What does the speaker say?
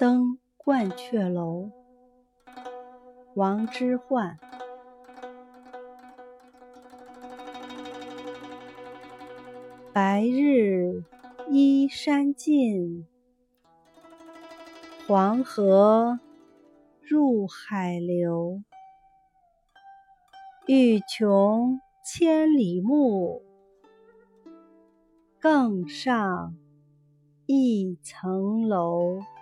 登鹳雀楼，王之涣。白日依山尽，黄河入海流。欲穷千里目，更上一层楼。